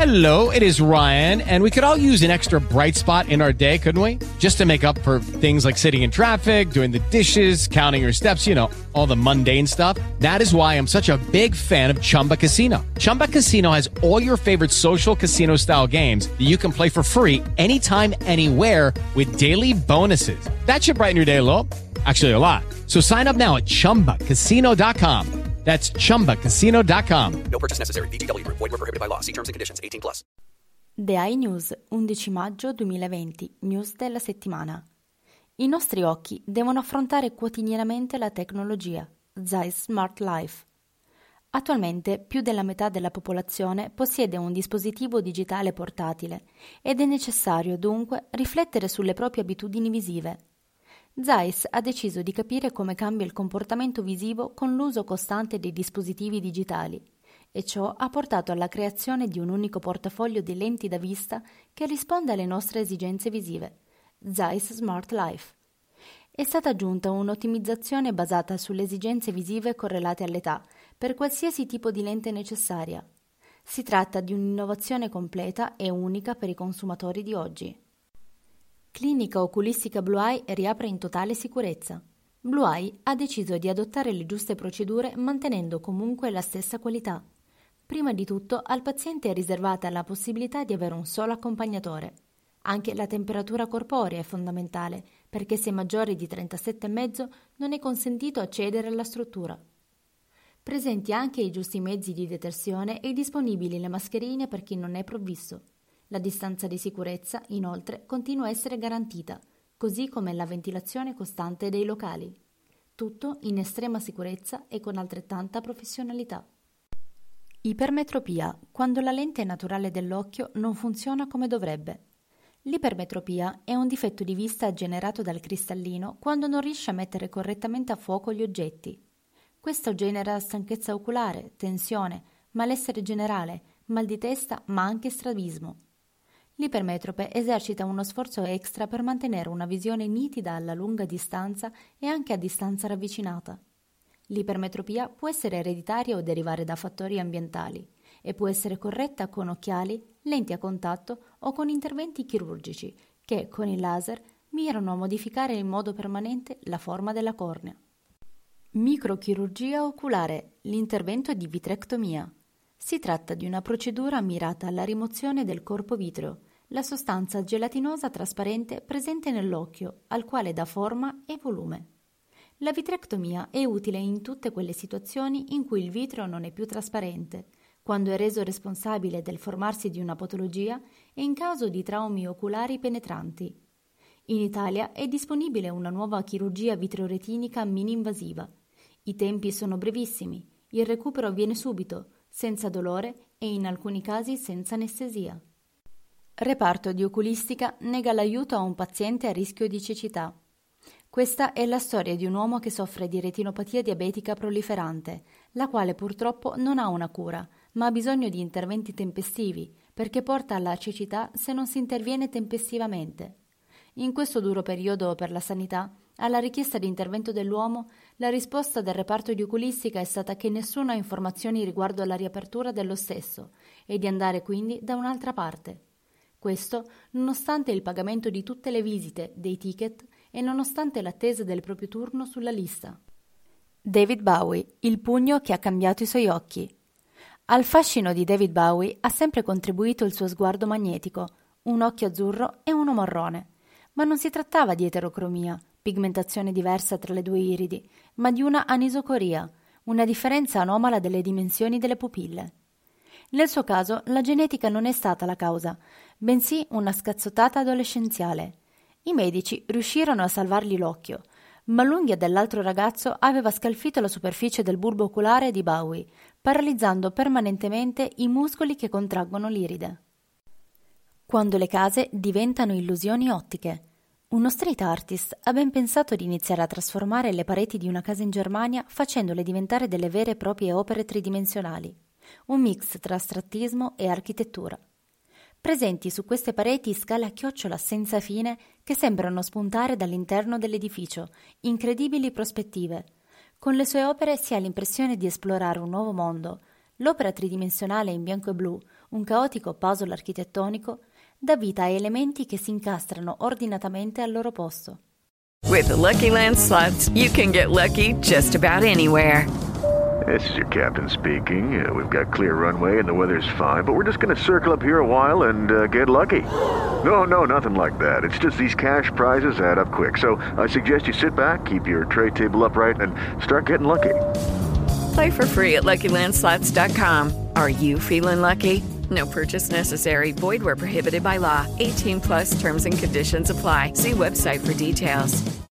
Hello, it is Ryan, and we could all use an extra bright spot in our day, couldn't we? Just to make up for things like sitting in traffic, doing the dishes, counting your steps, you know, all the mundane stuff. That is why I'm such a big fan of Chumba Casino. Chumba Casino has all your favorite social casino-style games that you can play for free anytime, anywhere with daily bonuses. That should brighten your day a little. Actually, a lot. So sign up now at ChumbaCasino.com. That's ChumbaCasino.com. No purchase necessary. VGW Group. Void where prohibited by law. See terms and conditions. 18+. The iNews, 11 maggio 2020, news della settimana. I nostri occhi devono affrontare quotidianamente la tecnologia. Zeiss Smart Life. Attualmente più della metà della popolazione possiede un dispositivo digitale portatile ed è necessario dunque riflettere sulle proprie abitudini visive. Zeiss ha deciso di capire come cambia il comportamento visivo con l'uso costante dei dispositivi digitali e ciò ha portato alla creazione di un unico portafoglio di lenti da vista che risponde alle nostre esigenze visive, Zeiss Smart Life. È stata aggiunta un'ottimizzazione basata sulle esigenze visive correlate all'età per qualsiasi tipo di lente necessaria. Si tratta di un'innovazione completa e unica per i consumatori di oggi. Clinica oculistica Blue Eye riapre in totale sicurezza. Blue Eye ha deciso di adottare le giuste procedure mantenendo comunque la stessa qualità. Prima di tutto al paziente è riservata la possibilità di avere un solo accompagnatore. Anche la temperatura corporea è fondamentale perché se maggiore di 37,5 non è consentito accedere alla struttura. Presenti anche i giusti mezzi di detersione e disponibili le mascherine per chi non è provvisto. La distanza di sicurezza, inoltre, continua a essere garantita, così come la ventilazione costante dei locali. Tutto in estrema sicurezza e con altrettanta professionalità. Ipermetropia, quando la lente naturale dell'occhio non funziona come dovrebbe. L'ipermetropia è un difetto di vista generato dal cristallino quando non riesce a mettere correttamente a fuoco gli oggetti. Questo genera stanchezza oculare, tensione, malessere generale, mal di testa ma anche strabismo. L'ipermetrope esercita uno sforzo extra per mantenere una visione nitida alla lunga distanza e anche a distanza ravvicinata. L'ipermetropia può essere ereditaria o derivare da fattori ambientali e può essere corretta con occhiali, lenti a contatto o con interventi chirurgici che, con il laser, mirano a modificare in modo permanente la forma della cornea. Microchirurgia oculare, l'intervento di vitrectomia. Si tratta di una procedura mirata alla rimozione del corpo vitreo, la sostanza gelatinosa trasparente presente nell'occhio, al quale dà forma e volume. La vitrectomia è utile in tutte quelle situazioni in cui il vitreo non è più trasparente, quando è reso responsabile del formarsi di una patologia e in caso di traumi oculari penetranti. In Italia è disponibile una nuova chirurgia vitreoretinica mini-invasiva. I tempi sono brevissimi, il recupero avviene subito, senza dolore e in alcuni casi senza anestesia. Reparto di oculistica nega l'aiuto a un paziente a rischio di cecità. Questa è la storia di un uomo che soffre di retinopatia diabetica proliferante, la quale purtroppo non ha una cura, ma ha bisogno di interventi tempestivi, perché porta alla cecità se non si interviene tempestivamente. In questo duro periodo per la sanità, alla richiesta di intervento dell'uomo, la risposta del reparto di oculistica è stata che nessuno ha informazioni riguardo alla riapertura dello stesso e di andare quindi da un'altra parte. Questo nonostante il pagamento di tutte le visite, dei ticket e nonostante l'attesa del proprio turno sulla lista. David Bowie, il pugno che ha cambiato i suoi occhi. Al fascino di David Bowie ha sempre contribuito il suo sguardo magnetico, un occhio azzurro e uno marrone. Ma non si trattava di eterocromia, pigmentazione diversa tra le due iridi, ma di una anisocoria, una differenza anomala delle dimensioni delle pupille. Nel suo caso la genetica non è stata la causa, bensì una scazzottata adolescenziale. I medici riuscirono a salvargli l'occhio, ma l'unghia dell'altro ragazzo aveva scalfito la superficie del bulbo oculare di Bowie, paralizzando permanentemente i muscoli che contraggono l'iride. Quando le case diventano illusioni ottiche. Uno street artist ha ben pensato di iniziare a trasformare le pareti di una casa in Germania facendole diventare delle vere e proprie opere tridimensionali, un mix tra astrattismo e architettura. Presenti su queste pareti scale a chiocciola senza fine che sembrano spuntare dall'interno dell'edificio, incredibili prospettive. Con le sue opere si ha l'impressione di esplorare un nuovo mondo. L'opera tridimensionale in bianco e blu, un caotico puzzle architettonico dà vita a elementi che si incastrano ordinatamente al loro posto. With the Lucky Land Slots, you can get lucky just about anywhere. This is your captain speaking. We've got clear runway and the weather's fine, but we're just going to circle up here a while and get lucky. No, nothing like that. It's just these cash prizes add up quick. So I suggest you sit back, keep your tray table upright, and start getting lucky. Play for free at LuckyLandSlots.com. Are you feeling lucky? No purchase necessary. Void where prohibited by law. 18+ terms and conditions apply. See website for details.